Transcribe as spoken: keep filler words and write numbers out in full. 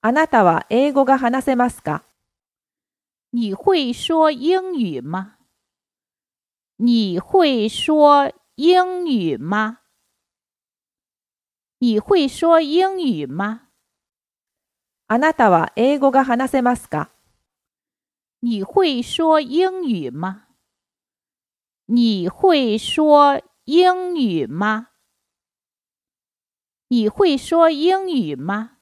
あなたは英語が話せますか？ 你会说英语吗？你会说英语吗？你会说英语吗？ あなたは英語が話せますか？ 你会说英语吗？你会说英语吗？你会说英语吗？